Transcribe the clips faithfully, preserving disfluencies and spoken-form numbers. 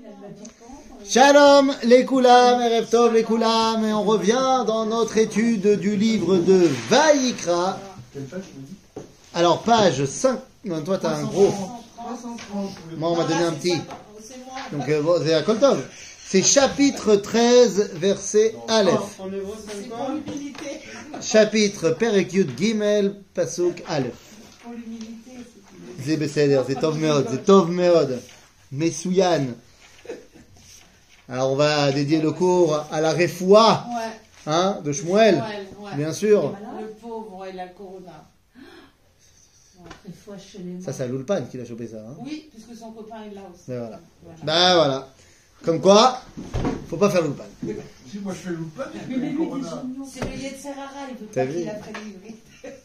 Shalom les Koulam, Erev Tov les Koulam, et on revient dans notre étude du livre de Vaïkra. Alors page cinq, non toi t'as un gros, moi on m'a donné un petit, donc euh, bon, c'est à Koltov. C'est chapitre treize, verset Aleph. Chapitre Perek Yud Gimel, Pasuk Aleph. C'est Besséder, c'est Tov Meod, c'est Tov Meod. Messouyan. Alors on va dédier le cours à la Refoua, ouais. hein, de Shmuel, ouais, ouais. Bien sûr. Le pauvre et la corona. Ça, c'est à l'Ulpan qu'il a chopé ça. Hein. Oui, puisque son copain est là aussi. Ben voilà. voilà. Ben voilà. Comme quoi, faut pas faire l'Ulpan. Si moi je fais l'Ulpan, c'est le Yetzerara, il veut pas qu'il apprenne l'ivrit.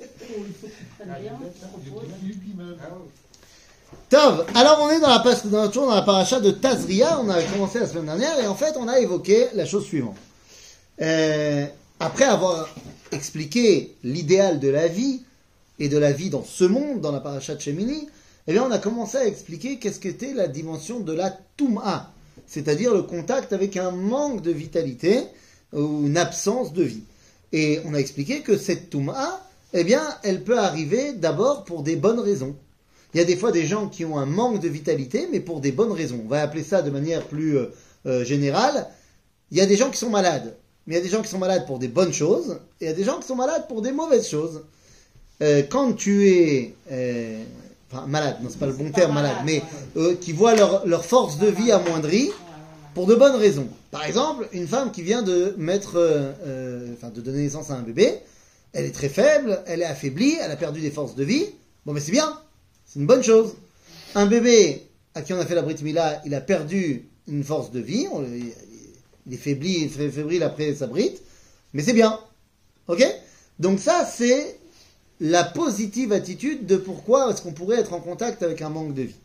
Tov, alors on est dans la, dans, toujours dans la paracha de Tazria, on a commencé la semaine dernière, et en fait on a évoqué la chose suivante. Euh, après avoir expliqué l'idéal de la vie, et de la vie dans ce monde, dans la paracha de Shemini, eh bien on a commencé à expliquer qu'est-ce qu'était la dimension de la Toum'a, c'est-à-dire le contact avec un manque de vitalité, ou une absence de vie. Et on a expliqué que cette Toum'a, eh bien elle peut arriver d'abord pour des bonnes raisons. Il y a des fois des gens qui ont un manque de vitalité, mais pour des bonnes raisons. On va appeler ça de manière plus euh, euh, générale. Il y a des gens qui sont malades, mais il y a des gens qui sont malades pour des bonnes choses, et il y a des gens qui sont malades pour des mauvaises choses. Euh, quand tu es euh, enfin, malade, non c'est pas le bon terme, malade, mais euh, qui voient leur, leur force de vie amoindrie pour de bonnes raisons. Par exemple, une femme qui vient de mettre, euh, euh, enfin de donner naissance à un bébé, elle est très faible, elle est affaiblie, elle a perdu des forces de vie. Bon, mais c'est bien. C'est une bonne chose. Un bébé à qui on a fait la Brit Mila, il a perdu une force de vie, on, il est faibli, fébrile après sa Brit, mais c'est bien. Ok ? Donc ça, c'est la positive attitude de pourquoi est-ce qu'on pourrait être en contact avec un manque de vie.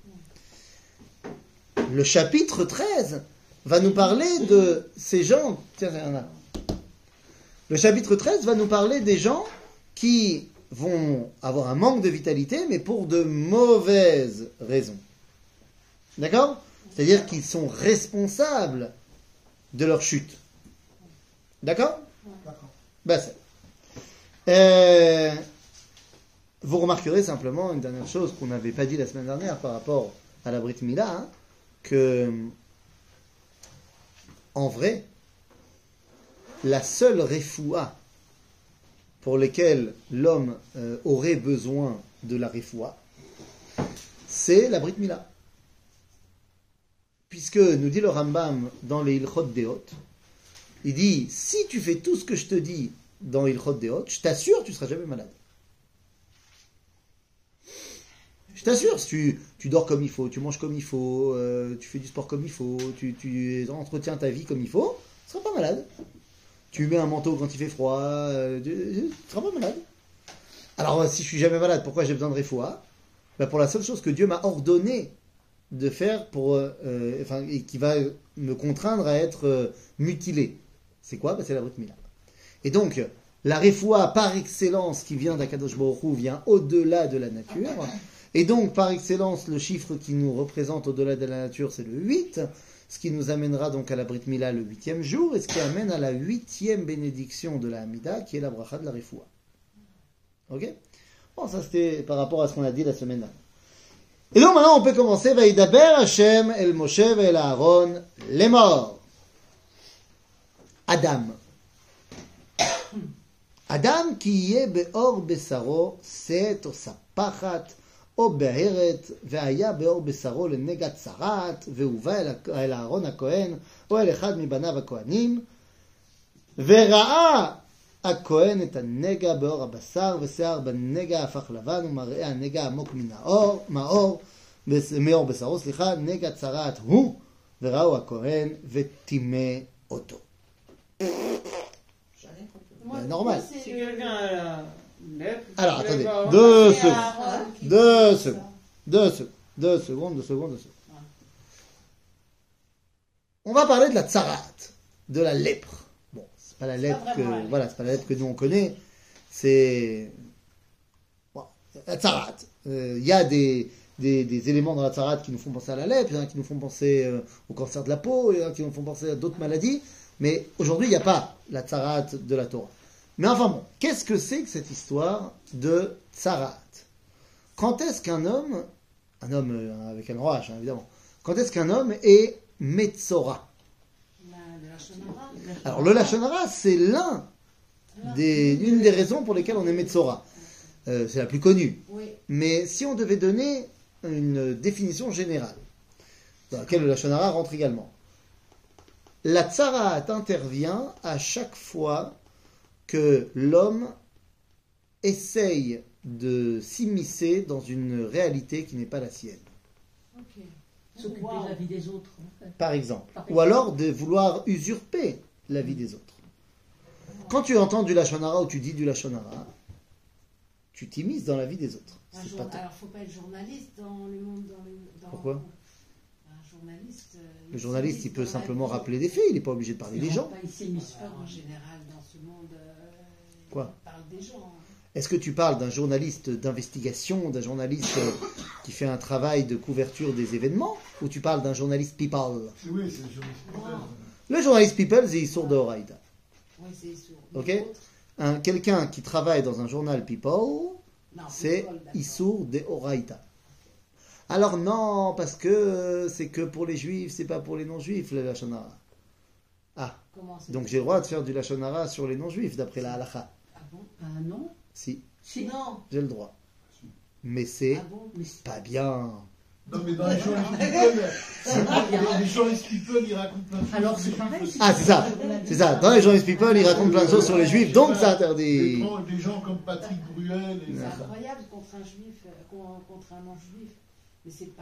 Le chapitre treize va nous parler de ces gens... Tiens, il y en a. Le chapitre treize va nous parler des gens qui vont avoir un manque de vitalité, mais pour de mauvaises raisons. D'accord ? C'est-à-dire qu'ils sont responsables de leur chute. D'accord ? D'accord. Ben, c'est... Euh, vous remarquerez simplement une dernière chose qu'on n'avait pas dit la semaine dernière par rapport à la Brit Mila, hein, que, en vrai, la seule refoua pour lesquels l'homme euh, aurait besoin de la refoua, c'est la Brit Mila. Puisque, nous dit le Rambam dans les Ilchot Deot, il dit, si tu fais tout ce que je te dis dans Ilchot Deot, je t'assure, tu ne seras jamais malade. Je t'assure, si tu, tu dors comme il faut, tu manges comme il faut, euh, tu fais du sport comme il faut, tu, tu entretiens ta vie comme il faut, tu ne seras pas malade. Tu mets un manteau quand il fait froid, euh, tu ne seras pas malade. Alors, si je suis jamais malade, pourquoi j'ai besoin de refoua ? Ben, pour la seule chose que Dieu m'a ordonné de faire, pour, euh, enfin, et qui va me contraindre à être euh, mutilé. C'est quoi ? Ben, c'est la Brit Mila. Et donc, la refoua par excellence qui vient d'Akadosh Baruch Hu vient au-delà de la nature. Et donc, par excellence, le chiffre qui nous représente au-delà de la nature, c'est le huit. Ce qui nous amènera donc à la Brit Mila le huitième jour, et ce qui amène à la huitième bénédiction de la Hamida, qui est la bracha de la Refoua. Ok ? Bon, ça c'était par rapport à ce qu'on a dit la semaine dernière. Et donc maintenant on peut commencer. Vaïdaber Hashem el Moshe el Aaron les morts. Adam. Adam qui y est beor besaro, c'est au sapachat. או בהרת, והיה באור בשרו לנגע צרת, והובא אל אהרון הכהן, או אל אחד מבניו הכהנים, וראה הכהן את הנגע באור הבשר, ושיער בנגע הפך לבן, ומראה הנגע עמוק מן האור, מאור, מאור בשרו, סליחה, נגע צרת הוא, וראו הכהן, וטימא אותו. נורמל. Alors, attendez, deux secondes, deux secondes, deux secondes, deux secondes, deux secondes, deux secondes. On va parler de la tsarat, de la lèpre. Bon, c'est pas la lèpre que, voilà, c'est pas la lèpre que nous on connaît, c'est, bon, la tsarat. Il euh, y a des, des, des éléments dans la tzarat qui nous font penser à la lèpre, il y en a qui nous font penser euh, au cancer de la peau, il y en a qui nous font penser à d'autres maladies. Mais aujourd'hui, il n'y a pas la tzarat de la Torah. Mais enfin bon, qu'est-ce que c'est que cette histoire de tzarat? Quand est-ce qu'un homme, un homme euh, avec un grand H, hein, évidemment, quand est-ce qu'un homme est metzora? La- le Lachon Hara. Alors le Lachon Hara, c'est l'un des, une des raisons pour lesquelles on est metzora. Euh, c'est la plus connue. Oui. Mais si on devait donner une définition générale, dans laquelle le Lachon Hara rentre également, la tzarat intervient à chaque fois que l'homme essaye de s'immiscer dans une réalité qui n'est pas la sienne. Ok. S'occuper Wow. de la vie des autres. En fait. Par exemple. Par Ou alors de vouloir usurper la vie des autres. Quand tu entends du Lachon Hara ou tu dis du Lachon Hara, tu t'immisces dans la vie des autres. Un C'est jour- pas toi. Alors, faut pas être journaliste dans le monde. Dans le, dans... Pourquoi Un journaliste. euh, Le journaliste, il s'immisce peut dans la simplement vie. rappeler des faits, il n'est pas obligé de parler des gens. Pas ici, mais c'est pas Alors, en grave. général, dans ce monde, euh, Quoi on parle des gens. Est-ce que tu parles d'un journaliste d'investigation, d'un journaliste euh, qui fait un travail de couverture des événements, ou tu parles d'un journaliste people? Oui, c'est le journaliste. Wow. Le journaliste people, c'est Issour de Horaïda. Oui, c'est sourd. Ok. Les autres, Un, quelqu'un qui travaille dans un journal people, non, c'est people, d'accord. Issour de Horaïda. Alors non, parce que euh, c'est que pour les juifs, c'est pas pour les non-juifs, le Lachon Hara. Ah, Comment c'est donc j'ai le droit de faire du Lachon Hara sur les non-juifs, d'après la halakha. Ah bon? Ah non. Si, Si. Non. j'ai le droit. Mais c'est Ah bon? Mais c'est pas bien. Non, mais dans les journalistes people, c'est pas bien. les journalistes people, ils racontent plein de choses. Alors sur c'est les pareil. juifs. Ah, c'est ça, c'est ça. Dans les journalistes people, ils racontent plein de choses sur les juifs, donc c'est Des interdit. gens, des gens comme Patrick Bruel. Et C'est ça. incroyable contre un juif, euh, con- contre un non-juif. Mais c'est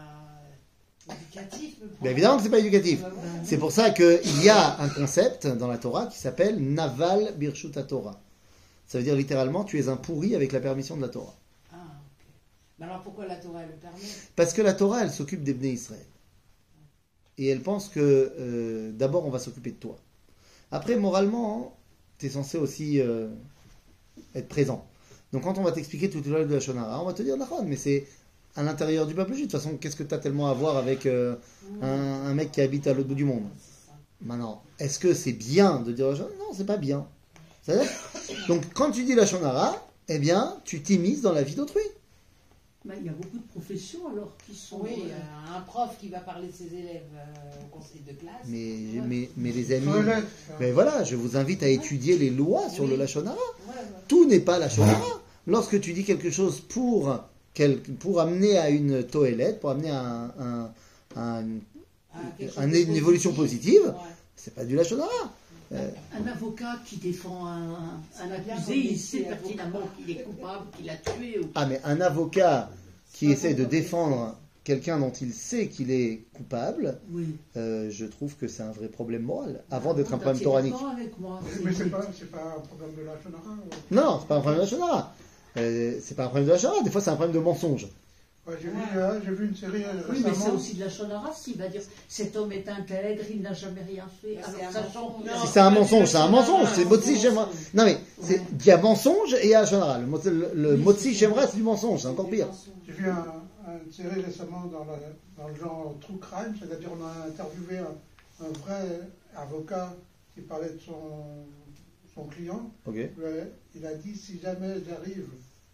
pas éducatif. le Mais problème. évidemment que c'est pas éducatif. Bah ouais. C'est pour ça qu'il y a un concept dans la Torah qui s'appelle Naval Birshut Torah. Ça veut dire littéralement, tu es un pourri avec la permission de la Torah. Ah, ok. Mais alors pourquoi la Torah elle le permet? Parce que la Torah, elle s'occupe des Bnei Israël. Et elle pense que euh, d'abord, on va s'occuper de toi. Après, moralement, tu es censé aussi euh, être présent. Donc quand on va t'expliquer tout le de la Shonara, on va te dire, d'accord, mais c'est à l'intérieur du peuple juif. De toute façon, qu'est-ce que tu as tellement à voir avec euh, un, un mec qui habite à l'autre bout du monde? Maintenant, est-ce que c'est bien de dire la Shonara? Non, c'est pas bien. C'est-à-dire, donc quand tu dis la Shonara, eh bien, tu t'immisces dans la vie d'autrui. Ben, il y a beaucoup de professions alors qui sont. Oui, euh, euh, un prof qui va parler de ses élèves euh, au conseil de classe. Mais, Ouais. mais, mais les amis, Toilette. mais voilà, je vous invite à étudier les lois sur Oui. le Lachon Hara. Ouais, ouais. Tout n'est pas Lachon Hara. Lorsque tu dis quelque chose pour, quel- pour amener à une toilette, pour amener à, un- un- un- Ah, quelque chose un- de une évolution positive, Ouais. c'est pas du Lachon Hara. Euh, Un avocat qui défend un, Ça un va bien accusé, comme il sait métier, pertinemment avocat. qu'il est coupable, qu'il a tué. Ou... ah, mais un avocat qui C'est pas essaie de bon, défendre quelqu'un dont il sait qu'il est coupable, Oui. euh, je trouve que c'est un vrai problème moral, avant d'être un T'es problème toranique. d'accord avec moi. Mais c'est pas, c'est pas un problème de la Shonara. Non, non, c'est pas un problème de Lachon Hara. Euh, c'est pas un problème de Lachon Hara, des fois c'est un problème de mensonge. Ouais, j'ai, vu, euh, j'ai vu une série euh, Oui, mais c'est récemment. aussi de la Shonara, s'il va dire cet homme est intègre, il n'a jamais rien fait. Mais Alors, c'est un sachant mensonge. qu'il a- Si c'est un mensonge, c'est un mensonge, c'est non, Motzi c'est Shemra. mensonge. Non mais, c'est- Ouais. il y a mensonge et il y a Shonara. Le, mot- le, le Oui, Motzi c'est Shemra, c'est du mensonge, c'est encore pire. J'ai vu un, un- une série récemment dans, la- dans le genre True Crime, c'est-à-dire on a interviewé un, un vrai avocat qui parlait de son, son client. Ok. Ouais, il a dit si jamais j'arrive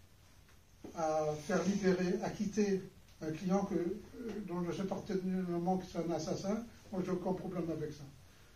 à faire libérer, à quitter un client que, euh, dont je sais parfaitement que c'est un assassin, moi j'ai aucun problème avec ça.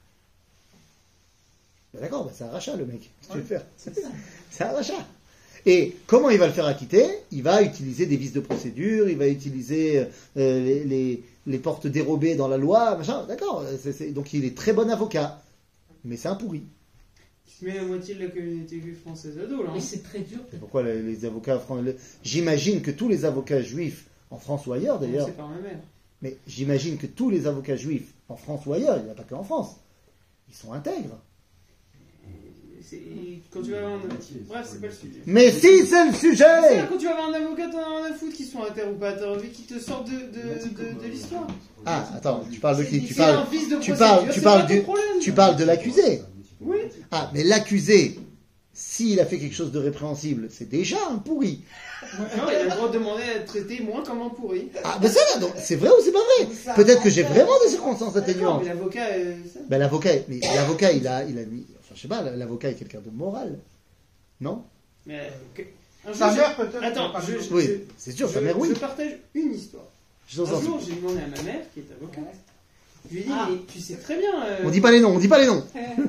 Ben d'accord, ben c'est un rachat le mec. Qu'est-ce que tu veux Ouais. faire? C'est un rachat. Et comment il va le faire acquitter? Il va utiliser des vices de procédure, il va utiliser euh, les, les- les portes dérobées dans la loi, machin. D'accord. c'est- c'est- donc il est très bon avocat. Mais c'est un pourri. Tu mets la moitié de la communauté juive française à dos, là. hein. Mais c'est très dur. Et pourquoi les, les avocats français? J'imagine que tous les avocats juifs, en France ou ailleurs d'ailleurs, C'est par ma mère. mais j'imagine que tous les avocats juifs, en France ou ailleurs, il n'y a pas que en France, ils sont intègres. C'est- Quand tu vas avoir un... Bref, c'est pas le sujet. Mais si, c'est le C'est sujet! quand tu vas avoir un avocat, t'en as rien à foutre qui sont à terre ou pas à terre, mais qui te sortent de, de, de, de l'histoire. Ah, attends, tu parles de qui? Tu C'est un parles, vice de tu procédure, parles, tu c'est parles pas ton du, problème. tu parles de l'accusé. Oui. Ah, mais l'accusé, s'il a fait quelque chose de répréhensible, c'est déjà un pourri. Non, il a le droit de demander à être traité moins comme un pourri. Ah, ben ça, donc, c'est vrai ou c'est pas vrai? Peut-être que j'ai vraiment des circonstances D'accord, atténuantes. mais l'avocat, euh, ça. Ben l'avocat, mais l'avocat, il a, il a mis, enfin je sais pas, l'avocat est quelqu'un de moral, non? Mais, euh, que- un jour, Sa j'ai- mère peut-être. Attends, pas je, du- je- Oui, je- c'est sûr, sa je- mère, oui. Je partage une histoire. Je t'en Un sens. jour, j'ai demandé à ma mère, qui est avocate, je lui ai dit, Ah. mais tu sais très bien, euh, On dit pas les noms, on dit pas les noms.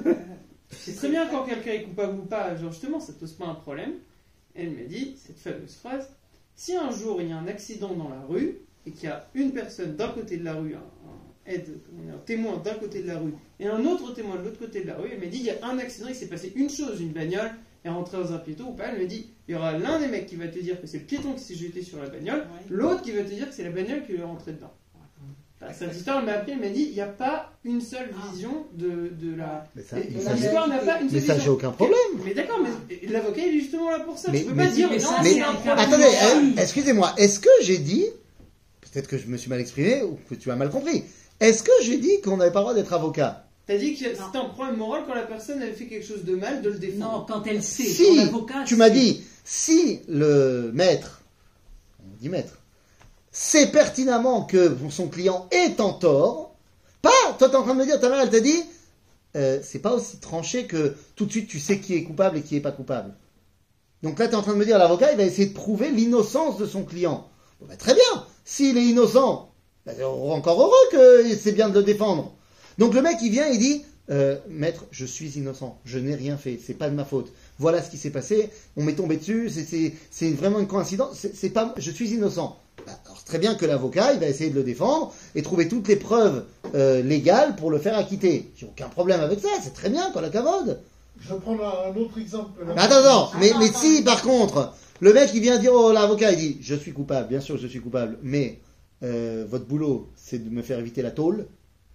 tu sais très bien quand quelqu'un est coupable ou pas, genre justement, ça te pose pas un problème. Elle m'a dit cette fameuse phrase, si un jour il y a un accident dans la rue, et qu'il y a une personne d'un côté de la rue, un, un aide, comment dire, un témoin d'un côté de la rue, et un autre témoin de l'autre côté de la rue, elle m'a dit, il y a un accident, il s'est passé une chose, une bagnole est rentrée dans un piéton ou pas, elle me dit, il y aura l'un des mecs qui va te dire que c'est le piéton qui s'est jeté sur la bagnole, Ouais. l'autre qui va te dire que c'est la bagnole qui est rentrée dedans. Enfin, cette histoire, elle m'a appelé, elle m'a dit, il n'y a pas une seule vision de, de la... Mais ça, Et- mais et ça, l'histoire n'a pas une mais seule ça, vision. j'ai aucun problème. Mais d'accord, mais l'avocat il est justement là pour ça. Mais- tu peux mais- pas dire mais non, ça, Mais- c'est un problème. Attendez, Oui. euh, excusez-moi, est-ce que j'ai dit, peut-être que je me suis mal exprimé ou que tu as mal compris, est-ce que j'ai dit qu'on n'avait pas le droit d'être avocat? T'as dit que c'était un problème moral quand la personne avait fait quelque chose de mal de le Non, défendre. quand elle sait, Si, son avocat. tu m'as sait. dit, si le maître, on dit maître, sait pertinemment que son client est en tort, pas, toi t'es en train de me dire, ta mère elle t'a dit, euh, c'est pas aussi tranché que tout de suite tu sais qui est coupable et qui est pas coupable. Donc là t'es en train de me dire, l'avocat il va essayer de prouver l'innocence de son client. Bon, bah, très bien, s'il est innocent, bah, encore heureux que c'est bien de le défendre. Donc le mec il vient et dit, euh, maître, je suis innocent, je n'ai rien fait, c'est pas de ma faute. Voilà ce qui s'est passé, on m'est tombé dessus, c'est, c'est, c'est vraiment une coïncidence, c'est, c'est pas, je suis innocent. Bah, alors très bien que l'avocat, il va essayer de le défendre et trouver toutes les preuves euh, légales pour le faire acquitter. J'ai aucun problème avec ça, c'est très bien, quoi, la cavode. Je vais prendre un un autre exemple. Mais attends, attends, mais, mais si par contre, le mec il vient dire, oh l'avocat il dit, je suis coupable, bien sûr je suis coupable, mais euh, votre boulot c'est de me faire éviter la tôle.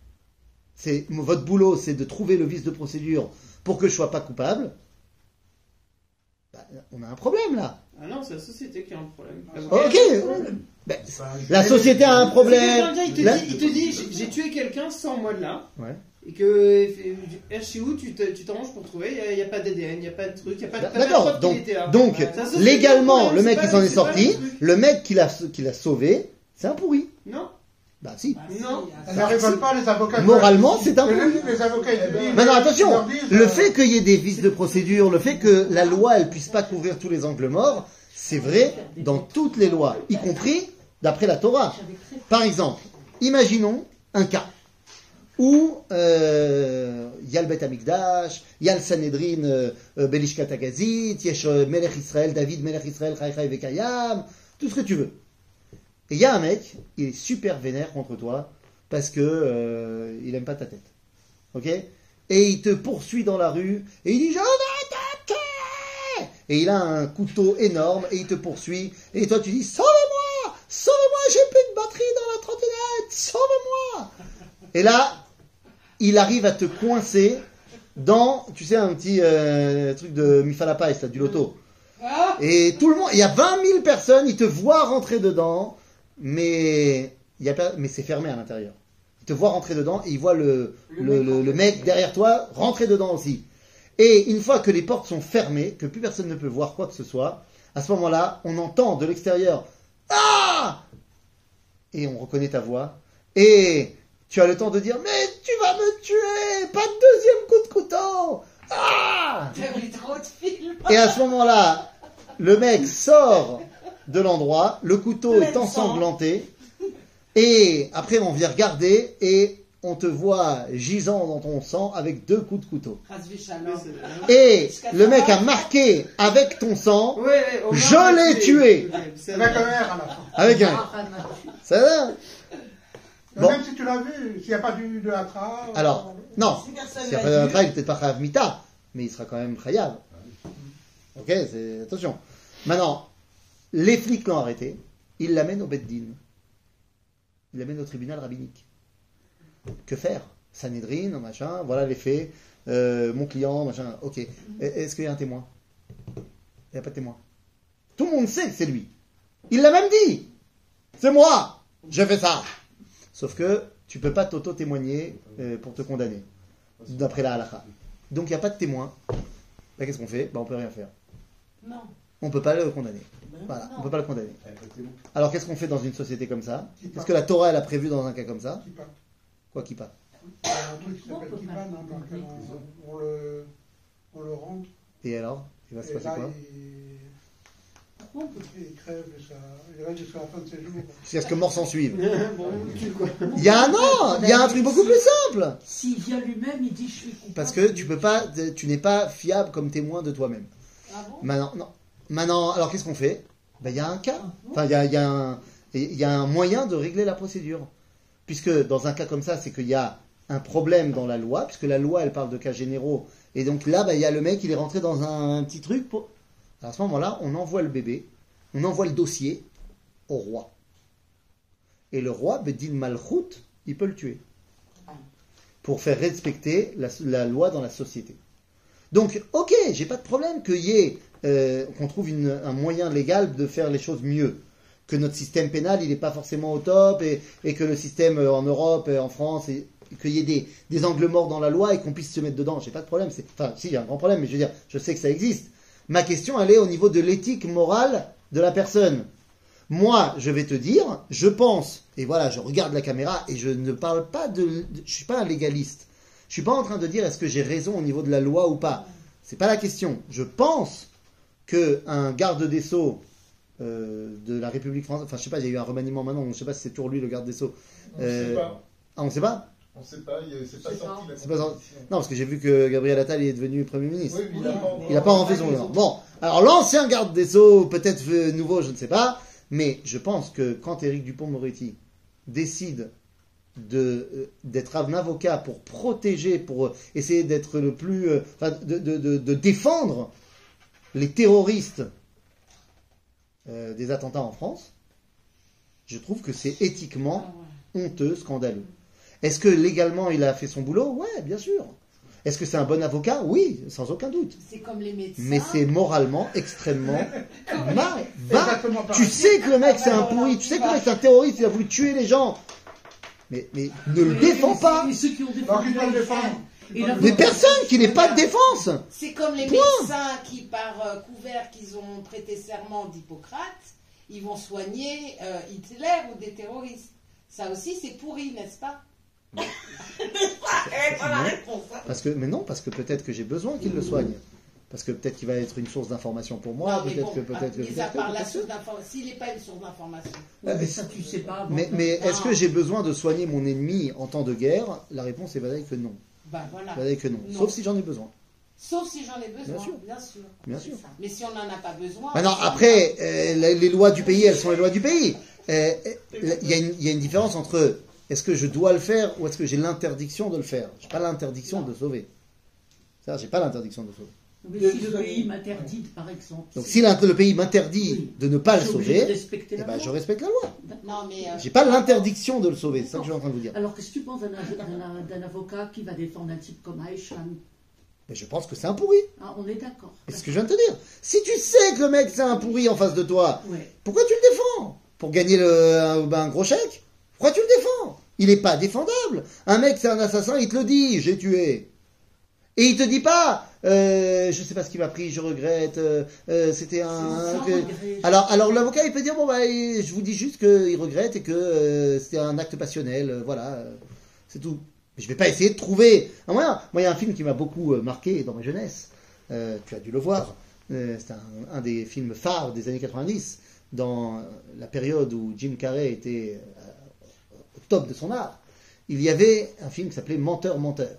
C'est, votre boulot, c'est de trouver le vice de procédure pour que je sois pas coupable. Bah, on a un problème là. Ah non, c'est la société qui a un problème. Ok. Ben, la société a un C'est problème. quelqu'un, il te La- dit, il te dit j'ai, j'ai tué quelqu'un sans moi de là. Ouais. Et que R C O, tu, te, tu t'arranges pour trouver, il n'y a, a pas d'A D N, il n'y a pas de truc, il n'y a pas de t'as pas de D'accord. preuve qu'il Donc, était là. donc C'est la société légalement, qui a un le mec problème, qui s'en est c'est pas- sorti, c'est pas le truc. le mec qui l'a, qui l'a sauvé, c'est un pourri. Non, Bah si. Bah, si, Non. ah, Elles ne révoltent pas les avocats. Moralement, c'est un Les, pourri. les avocats, ils disent. Maintenant, ils attention, leur disent, le euh, fait qu'il y ait des vices de procédure, le fait que la loi, elle puisse pas couvrir tous les angles morts, c'est vrai dans toutes les lois, y compris d'après la Torah. Par exemple, imaginons un cas où euh, il y a le Beth Amikdash, il y a le Sanhedrin euh, euh, Belishkat Agazit, il y a euh, Melech Israël, David Melech Israël, Chai Chai Vekayam, tout ce que tu veux. Et il y a un mec, il est super vénère contre toi parce que euh, il aime pas ta tête. Ok? Et il te poursuit dans la rue et il dit je vais t'attaquer. Et il a un couteau énorme et il te poursuit et toi tu dis sauvez-moi, sauvez-moi, j'ai plus de batterie dans la trottinette, sauvez-moi. Et là, il arrive à te coincer dans, tu sais, un petit euh, truc de Mifal Hapais, là, du loto. Ah, Et tout le monde, il y a vingt mille personnes, ils te voient rentrer dedans, mais, il y a pas, mais c'est fermé à l'intérieur. Ils te voient rentrer dedans et ils voient le, le, le, le mec derrière toi rentrer dedans aussi. Et une fois que les portes sont fermées, que plus personne ne peut voir quoi que ce soit, à ce moment-là, on entend de l'extérieur « Ah !» Et on reconnaît ta voix. Et tu as le temps de dire « Mais tu vas me tuer! Pas de deuxième coup de couteau! Ah !» t'as vu trop de films. Et à ce moment-là, le mec sort de l'endroit, le couteau Plein est de sang. ensanglanté, et après on vient regarder, et on te voit gisant dans ton sang avec deux coups de couteau. Razvi Shalom. Et le mec a marqué avec ton sang, Ouais, Omar Je l'a l'ai tué. Ok, c'est Avec vrai. un R à la fin. avec un... Ça va? Mais Bon. Même si tu l'as vu, s'il n'y a pas du, de Hatra. euh, Alors, non, Si personne si l'a après un vu. trail, il n'est peut-être pas Chayav Mita, mais il sera quand même Chayav. Ok, c'est... attention. Maintenant, les flics l'ont arrêté, ils l'amènent au Beddin. Ils l'amènent au tribunal rabbinique. Que faire? Sanhedrin, machin, voilà les faits, euh, mon client, machin, ok. Est-ce qu'il y a un témoin? Il n'y a pas de témoin. Tout le monde sait que c'est lui. Il l'a même dit. C'est moi, j'ai fait ça. Sauf que tu peux pas t'auto-témoigner euh, pour te condamner, d'après la halakha. Donc il n'y a pas de témoin. bah, qu'est-ce qu'on fait? Bah, on peut rien faire. Non. On peut pas le condamner. Ben Voilà, non. on peut pas le condamner. À côté, bon. Alors qu'est-ce qu'on fait dans une société comme ça? Kippa. Qu'est-ce que la Torah elle a prévu dans un cas comme ça? Kippa. Quoi qui pas? Il y a un truc qui On s'appelle peut Kippa, pas. non, dans lequel on, on le, on le rentre. Et alors? Il va se Et passer là, quoi? il, il crève et ça, il reste jusqu'à la fin de ses jours. Jusqu'à ce que mort s'en suive. Bon, tu quoi. Il y a un an, il y a un truc beaucoup plus simple. S'il vient lui-même, il dit je suis coupable. Parce que tu peux pas, tu n'es pas fiable comme témoin de toi-même. Ah bon? Maintenant, non. Maintenant, alors qu'est-ce qu'on fait? Ben, il y a un cas. Enfin, il y a, il y a un, il y a un moyen de régler la procédure. Puisque dans un cas comme ça, c'est qu'il y a un problème dans la loi, puisque la loi, elle parle de cas généraux. Et donc là, ben, il y a le mec, il est rentré dans un, un petit truc. Pour... Alors, à ce moment-là, on envoie le bébé, on envoie le dossier au roi. Et le roi, Bedin Malchut, il peut le tuer. Pour faire respecter la, la loi dans la société. Donc, ok, j'ai pas de problème qu'il y ait, euh, qu'on trouve une, un moyen légal de faire les choses mieux. Que notre système pénal, il n'est pas forcément au top, et, et que le système euh, en Europe, et en France, et, et qu'il y ait des, des angles morts dans la loi et qu'on puisse se mettre dedans. J'ai pas de problème. C'est, enfin, si, il y a un grand problème, mais je veux dire, je sais que ça existe. Ma question, elle est au niveau de l'éthique morale de la personne. Moi, je vais te dire, je pense, et voilà, je regarde la caméra, et je ne parle pas de, de je suis pas un légaliste. Je suis pas en train de dire est-ce que j'ai raison au niveau de la loi ou pas. C'est pas la question. Je pense que un garde des Sceaux euh, de la République française, enfin je sais pas, il y a eu un remaniement maintenant, je sais pas si c'est toujours lui le garde des Sceaux. On ne Euh, sait pas. Ah, on sait pas? On ne sait pas, il- c'est pas C'est sorti pas. la C'est pas sorti. compétition. Non, parce que j'ai vu que Gabriel Attal est devenu Premier ministre. Oui, mais il n'a pas encore- Il n'a pas rentré son raison. Bon, alors l'ancien garde des Sceaux, peut-être euh, nouveau, je ne sais pas, mais je pense que quand Éric Dupond-Moretti décide de, euh, d'être un avocat pour protéger, pour euh, essayer d'être le plus, euh, enfin, de, de, de, de défendre les terroristes euh, des attentats en France, je trouve que c'est éthiquement Ah ouais. honteux, scandaleux. Est-ce que légalement il a fait son boulot? Ouais, bien sûr. Est-ce que c'est un bon avocat? Oui, sans aucun doute. C'est comme les médecins. Mais c'est moralement extrêmement mal. Va, Exactement tu pareil. sais que le mec c'est un pourri, tu sais que le mec c'est un terroriste, il a voulu tuer les gens. Mais, mais ne le défends pas. Et ceux qui ont Donc défendu il doit le défendre. Et la- Des personnes qui n'aient pas de défense. C'est comme les Point. médecins qui, par euh, couvert qu'ils ont prêté serment d'Hippocrate, ils vont soigner euh, Hitler ou des terroristes. Ça aussi, c'est pourri, n'est-ce pas? N'est-ce pas? Eh, voilà la réponse. Parce que, mais non, parce que peut-être que j'ai besoin qu'il le soigne. Parce que peut-être qu'il va être une source d'information pour moi, Non, mais peut-être bon, que peut-être que mis à peut-être que, part la peut-être source que. d'information, s'il n'est pas une source d'information. Oui, mais ça, tu sais pas. bon, Mais, mais est-ce Non. que j'ai besoin de soigner mon ennemi en temps de guerre? La réponse est valable que non. Ben voilà. Valable que non. Non. Sauf si j'en ai besoin. Sauf si j'en ai besoin, Bien sûr. bien sûr. Bien C'est sûr. ça. Mais si on n'en a pas besoin. Maintenant, après, euh, les, les lois du pays, elles sont les lois du pays. Euh, euh, Il y, a une- il y a une différence entre est-ce que je dois le faire ou est-ce que j'ai l'interdiction de le faire. J'ai pas l'interdiction de sauver. Ça, j'ai pas l'interdiction de sauver. Mais si le pays m'interdit, par exemple. Donc, si l'int- le pays m'interdit Oui. de ne pas le je suis obligé de sauver, respecter eh la ben, loi. je respecte la loi. Non, mais. euh, J'ai pas l'interdiction de le sauver. C'est ça que je suis en train de vous dire. Alors, qu'est-ce que tu penses d'un d'un- d'un avocat qui va défendre un type comme Aïchan? Mais je pense que c'est un pourri. Ah, on est d'accord. C'est ce que je viens de te dire. Si tu sais que le mec c'est un pourri en face de toi, Ouais. pourquoi tu le défends? Pour gagner le, un, ben, un gros chèque? Pourquoi tu le défends? Il n'est pas défendable. Un mec c'est un assassin, il te le dit, j'ai tué. Et il te dit pas, euh, je sais pas ce qui m'a pris, je regrette, euh, euh, c'était un... Sans que- regret. Alors, alors l'avocat il peut dire, bon bah je vous dis juste qu'il regrette et que euh, c'était un acte passionnel, euh, voilà, euh, c'est tout. Mais je vais pas essayer de trouver un moyen. Moi il y a un film qui m'a beaucoup euh, marqué dans ma jeunesse, euh, tu as dû le voir, euh, c'est un, un des films phares des années quatre-vingt-dix, dans la période où Jim Carrey était euh, au top de son art. Il y avait un film qui s'appelait Menteur, Menteur.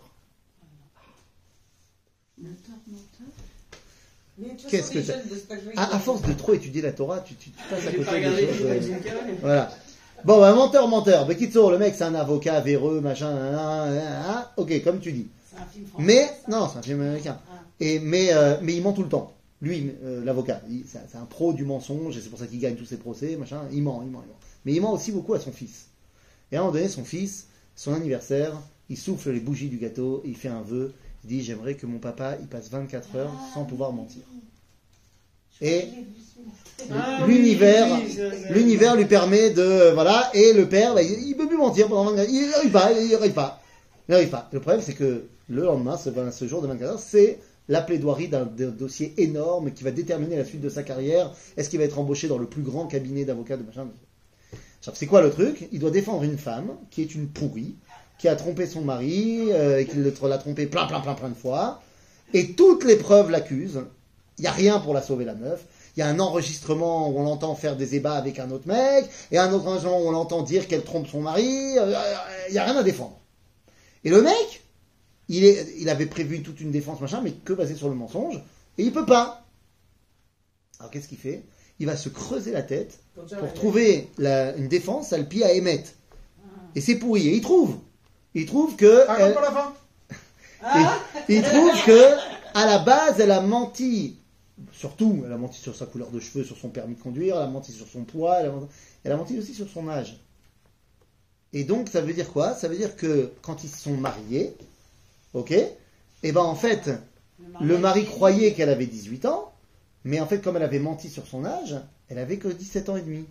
Menteur, menteur. Mais de toute Qu'est-ce façon, que les t'as- jeunes de cet âge-là, À, ils à force de trop étudier la Torah, tu, tu, tu passes à J'ai pas côté regardé des les choses. films euh, de Jim Carrey. Voilà. Bon, bah, menteur, menteur. Mais quitte le mec, c'est un avocat véreux, machin, nan, nan, nan, nan. Ok, comme tu dis. C'est un film français. Mais, ça non, c'est un film américain. Ah. Et, mais, euh, mais il ment tout le temps. Lui, euh, l'avocat, il- c'est un- c'est un pro du mensonge, et c'est pour ça qu'il gagne tous ses procès, machin. Il ment, il ment, il ment. Mais il ment aussi beaucoup à son fils. Et à un moment donné, son fils, son anniversaire, il souffle les bougies du gâteau, il fait un vœu. Il dit, j'aimerais que mon papa, il passe vingt-quatre heures sans pouvoir mentir. Et Ah, l'univers, oui, oui, ça, ça. l'univers lui permet de, voilà, et le père, bah, il, il peut plus mentir pendant vingt-quatre heures. Il n'arrive pas, il n'arrive pas. Il n'arrive pas. Le problème, c'est que le lendemain, ce, ce jour de vingt-quatre heures, c'est la plaidoirie d'un d'un dossier énorme qui va déterminer la suite de sa carrière. Est-ce qu'il va être embauché dans le plus grand cabinet d'avocats de machin? C'est quoi le truc? Il doit défendre une femme qui est une pourrie, qui a trompé son mari, euh, et qui l'a trompé plein, plein, plein, plein de fois. Et toutes les preuves l'accusent. Il n'y a rien pour la sauver, la meuf. Il y a un enregistrement où on l'entend faire des ébats avec un autre mec, et un autre enregistrement où on l'entend dire qu'elle trompe son mari. Il n'y a rien à défendre. Et le mec, il, est, il avait prévu toute une défense, machin, mais que basé sur le mensonge, et il peut pas. Alors qu'est-ce qu'il fait? Il va se creuser la tête pour trouver la, une défense à le pied à émettre. Et c'est pourri. Et il trouve. Il trouve que... Ah, elle- pas la fin. et- il trouve que, à la base, elle a menti. Surtout, elle a menti sur sa couleur de cheveux, sur son permis de conduire, elle a menti sur son poids, elle a menti, elle a menti aussi sur son âge. Et donc, ça veut dire quoi? Ça veut dire que quand ils se sont mariés, ok, et ben en fait, le mari croyait qu'elle avait dix-huit ans, mais en fait, comme elle avait menti sur son âge, elle avait que dix-sept ans et demi.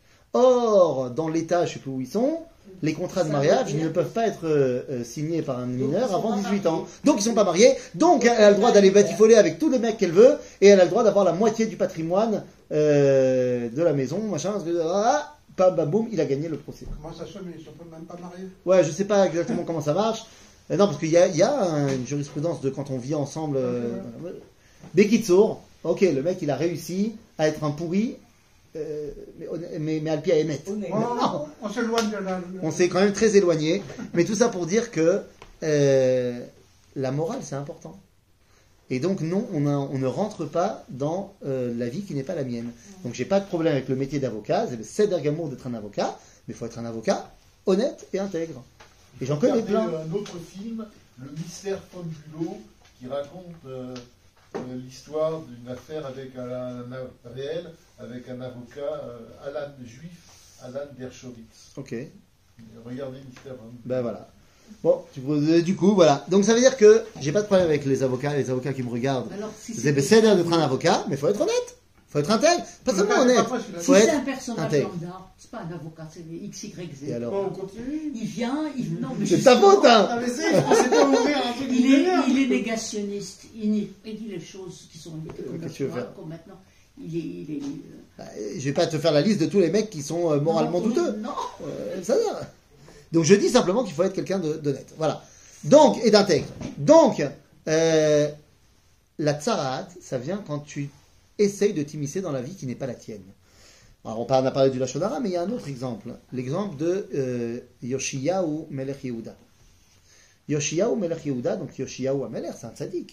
Or, dans l'État, je ne sais plus où ils sont, les contrats de Ça mariage veut dire- ne peuvent pas être euh, euh, signés par un mineur ils sont avant pas dix-huit ans. mariés. Donc, ils sont pas mariés. Donc, elle a le droit d'aller batifoler avec tous les mecs qu'elle veut, et elle a le droit d'avoir la moitié du patrimoine euh, de la maison, machin. Parce que, ah, bam, bam, boum, il a gagné le procès. Comment ça se fait, mais ils ne sont pas- même pas mariés? Ouais, je sais pas exactement comment ça marche. Euh, non, parce qu'il y a, il y a un- une jurisprudence de quand on vit ensemble. Euh, Bekitsour, ok, le mec il a réussi à être un pourri, euh, mais, honn- mais, mais à le pied à émettre. On, on, on s'éloigne de la... On s'est quand même très éloigné, mais tout ça pour dire que euh, la morale c'est important. Et donc non, on, a- on ne rentre pas dans euh, la vie qui n'est pas la mienne. Donc j'ai pas de problème avec le métier d'avocat, c'est le seder gamour d'être un avocat, mais il faut être un avocat honnête et intègre. Et j'en connais Regardez plein. un autre film, Le Mystère Fonbulo, qui raconte euh, euh, l'histoire d'une affaire avec un, un- réel, avec un avocat, euh, Alan juif, Alan Dershowitz. Ok. Regardez Mystère Fonbulo. Ben voilà. Bon, tu peux- euh, du coup, voilà. Donc ça veut dire que j'ai pas de problème avec les avocats, les avocats qui me regardent. Alors, si C'est c'est bécédaire d'être un avocat, mais il faut être honnête. Il faut être intègre. Pas seulement pas- honnête. pas facile, hein. si Faut c'est être un personnage intègre. lambda, c'est pas un avocat, c'est des X Y Z. Et alors Bon, on continue. Il vient, il. Non, mais C'est ta justement, faute, hein. Ah, mais c'est, je pensais pas ouvrir un truc Il d'une est, heure. il est négationniste. Il, nie- il dit les choses qui sont comme, Qu'est-ce que tu veux naturelles, faire comme maintenant. Il est. Il est euh, Bah, Je vais pas te faire la liste de tous les mecs qui sont euh, moralement non, douteux. Non. Euh, ça va. Donc je dis simplement qu'il faut être quelqu'un de- d'honnête. Voilà. Donc, et d'intègre. Donc, euh, la tsaraat, ça vient quand tu essayes de t'immiscer dans la vie qui n'est pas la tienne. Alors, on parle- on a parlé du Lachon Hara, mais il y a un autre exemple. L'exemple de euh, Yoshiyahu Melech Yehuda. Yoshiyahu Melech Yehuda, donc Yoshiyahu Amelech, c'est un tzaddik.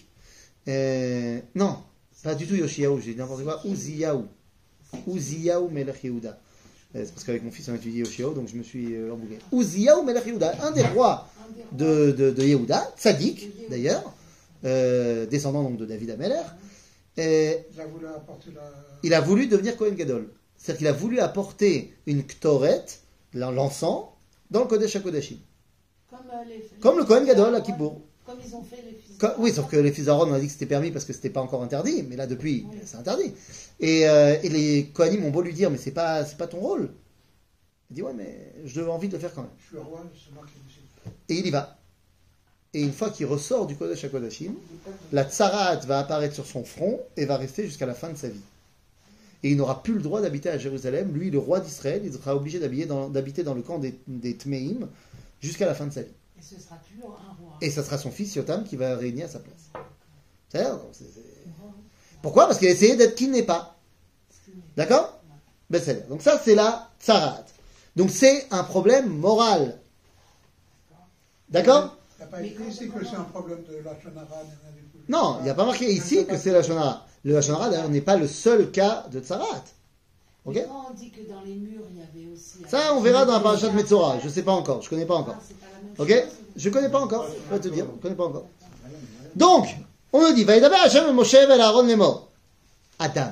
Euh, non, pas du tout Yoshiyahu, j'ai dit n'importe quoi. Uziyahu. Uziyahu Melech Yehuda. Euh, C'est parce qu'avec mon fils on a étudié Yoshiyahu, donc je me suis euh, embrouillé. Uziyahu Melech Yehuda, un des rois de, de, de Yehuda, tzaddik d'ailleurs, euh, descendant donc de David Ameler. Et Il a voulu apporter la... il a voulu devenir Kohen Gadol. C'est-à-dire qu'il a voulu apporter une ktoret, l'encens, dans le Kodesh HaKodashim. Comme, euh, les, Comme le Kohen Gadol à Ouais, Kippour. Comme ils ont fait les fils. Co- Oui, sauf que les fils d'Aaron, on a dit que c'était permis parce que c'était pas encore interdit, mais là depuis, c'est interdit. Et, euh, et les Kohanim ont beau lui dire, mais c'est pas, c'est pas ton rôle. Il dit, ouais, mais j'ai envie de le faire quand même. Je suis roi, c'est moi qui décide. Et il y va. Et une fois qu'il ressort du Kodesh HaKodashim, la tsarat va apparaître sur son front et va rester jusqu'à la fin de sa vie. Et il n'aura plus le droit d'habiter à Jérusalem. Lui, le roi d'Israël, il sera obligé d'habiter dans, d'habiter dans le camp des, des Tmeim jusqu'à la fin de sa vie. Et ce sera plus un roi. Et ça sera son fils Yotam qui va régner à sa place. C'est-à-dire, donc, c'est- c'est- Pourquoi? Parce qu'il a essayé d'être qui n'est pas. D'accord? Ben, c'est donc ça, c'est la tsarat. Donc c'est un problème moral. D'accord? Il n'y a pas écrit ici que c'est un problème de la Shonara. Non, il n'y a pas marqué ici que c'est la Shonara. Le la Shonara, d'ailleurs, n'est pas le seul cas de tsarat. Ok? Mais quand on dit que dans les murs, il y avait aussi... Ça, on verra dans la parasha de Metzora. Je ne sais pas encore. Je ne connais pas encore. Ah, c'est pas la même Ok? chose. Je ne connais pas encore. Je vais te dire. Je ne connais pas encore. Donc, on nous dit, Vaïdaber Hashem Moshe vel Aaron lemor. Adam.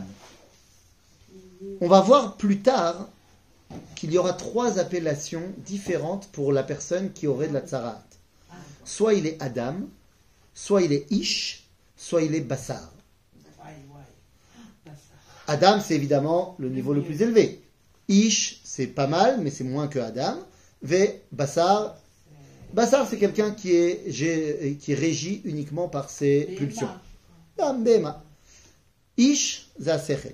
On va voir plus tard qu'il y aura trois appellations différentes pour la personne qui aurait de la tsarat. Soit il est Adam, soit il est Ish, soit il est Bassar. Ouais, ouais. Bah, ça. Adam, c'est évidemment le niveau le plus élevé. Ish, c'est pas mal, mais c'est moins que Adam. V, Bassar. Bassar, c'est quelqu'un qui est, gé- qui est régi uniquement par ses Les pulsions. mains. Dam Bema. Ish, זה השכל.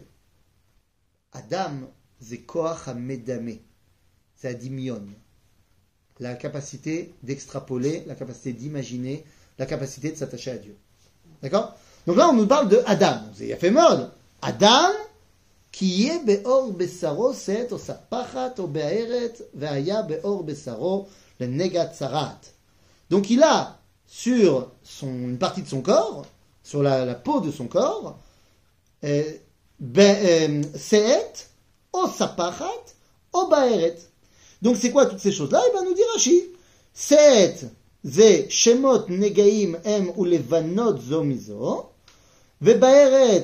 Adam, זה כוח המדמה. C'est הדמיון. La capacité d'extrapoler, la capacité d'imaginer, la capacité de s'attacher à Dieu. D'accord? Donc là, on nous parle de Adam. C'est yafé mode. Adam, qui est be'or besaro, c'est osa pachat o be'aeret, ve'aya be'or besaro, le negat tzarat. Donc il a sur son, une partie de son corps, sur la, la peau de son corps, euh, ben, euh, se'et, osa pachat, o be'aeret. Donc c'est quoi toutes ces choses-là? Il va nous dire Rashi. Se'et, ze shemot negaim em ou levanot zo mizo. Vebaeret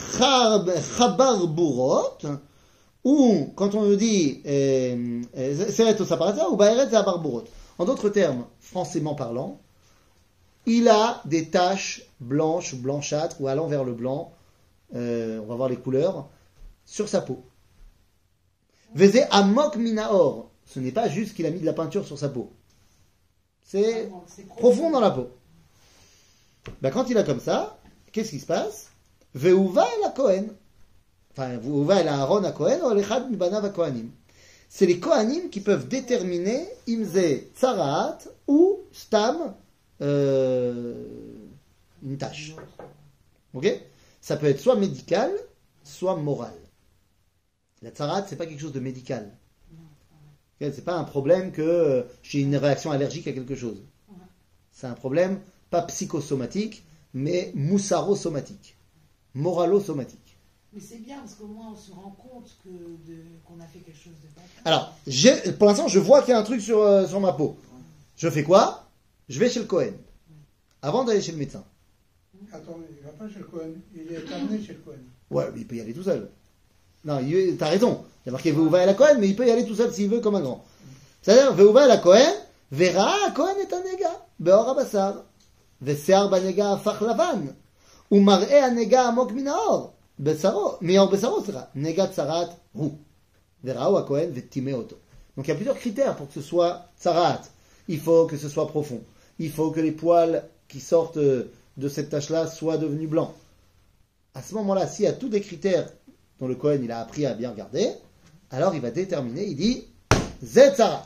chabar burot, ou quand on nous dit seret au saparata, ou baeret chabar burot. En d'autres termes, françaisement parlant, il a des taches blanches, blanchâtres ou allant vers le blanc, euh, on va voir les couleurs, sur sa peau. Veze amok minaor, ce n'est pas juste qu'il a mis de la peinture sur sa peau. C'est profond dans la peau. Ben, quand il a comme ça, qu'est-ce qui se passe? Veuva el Kohen. Enfin, Veuva el Aaron à Kohen, ou l'echad mibanav à Kohanim. C'est les Kohanim qui peuvent déterminer imze tzaraat ou stam euh, une tâche. Ok? Ça peut être soit médical, soit moral. La tzaraat, c'est pas quelque chose de médical. Okay? C'est pas un problème que euh, j'ai une réaction allergique à quelque chose. C'est un problème pas psychosomatique, mais moussaro-somatique, moralo-somatique. Mais c'est bien parce qu'au moins on se rend compte que de, qu'on a fait quelque chose de pas. Alors, j'ai, pour l'instant, je vois qu'il y a un truc sur, euh, sur ma peau. Je fais quoi? Je vais chez le Kohen. Avant d'aller chez le médecin. Attends, il ne va pas chez le Kohen. Il est amené chez le Kohen. Ouais, mais il peut y aller tout seul. Non, il, t'as raison. Il y a marqué Veuva el Kohen, mais il peut y aller tout seul s'il veut comme un grand. C'est-à-dire, Veuva el Kohen, Vera Kohen est un nega, Beor Abassar. ושיער בנגע הפך לבן, ומראה הנגע עמוק מן האור, בשרו, מאור בשרו, סליחה, נגע צרעת הוא. וראו הכהן וטימא אותו. Donc il y a plusieurs critères pour que ce soit tzarat. Il faut que ce soit profond. Il faut que les poils qui sortent de cette tache-là soient devenus blancs. À ce moment-là, s'il y a tous des critères dont le Kohen il a appris à bien regarder, alors il va déterminer, il dit, zé tzarat.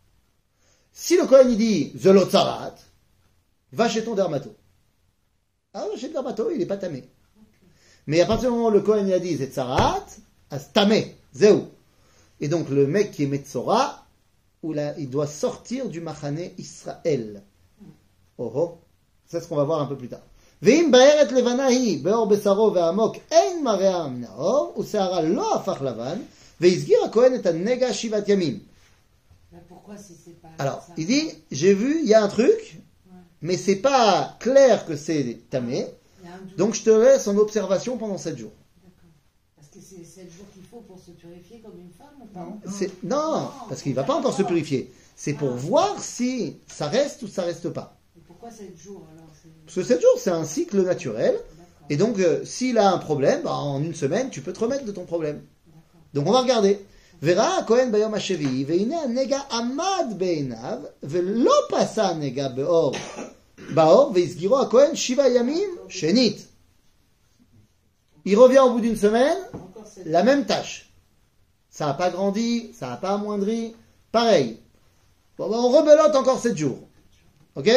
Si le Kohen il dit, zelo tzarat, va chez ton dermato. Ah, chez le dermato, il n'est pas tamé. Mais à partir du moment où le Kohen il a dit c'est tzarat, as tamé, zéou. Et donc le mec qui est Metzora, où là, il doit sortir du Machane Israël. Oh oh, c'est ce qu'on va voir un peu plus tard. Ve'im ba'eret levanahi be'or besaro ve'amok ein marea min ha'or u'se'ara lo hafach lavan ve'izgir ha'kohen et ha'nega shivat yamim. Pourquoi si c'est pas Alors, ça? il dit, j'ai vu, il y a un truc, mais c'est pas clair que c'est tamé, donc je te laisse en observation pendant sept jours. D'accord. Parce que c'est sept jours qu'il faut pour se purifier comme une femme ou pas? C'est, non, non, parce qu'il va pas encore se purifier. C'est pour ah. voir si ça reste ou ça reste pas. Et pourquoi sept jours alors? C'est... Parce que sept jours, c'est un cycle naturel. D'accord. Et donc, euh, s'il a un problème, bah, en une semaine, tu peux te remettre de ton problème. D'accord. Donc on va regarder. Verra Kohen bayom hashevi, veine nega amad beinav, velo pasa nega beor, baor, veizgiro Kohen shiva yamim shenit. Il revient au bout d'une semaine, la même tâche. Ça n'a pas grandi, ça n'a pas amoindri, pareil. Bon, ben on rebelote encore sept jours. Ok?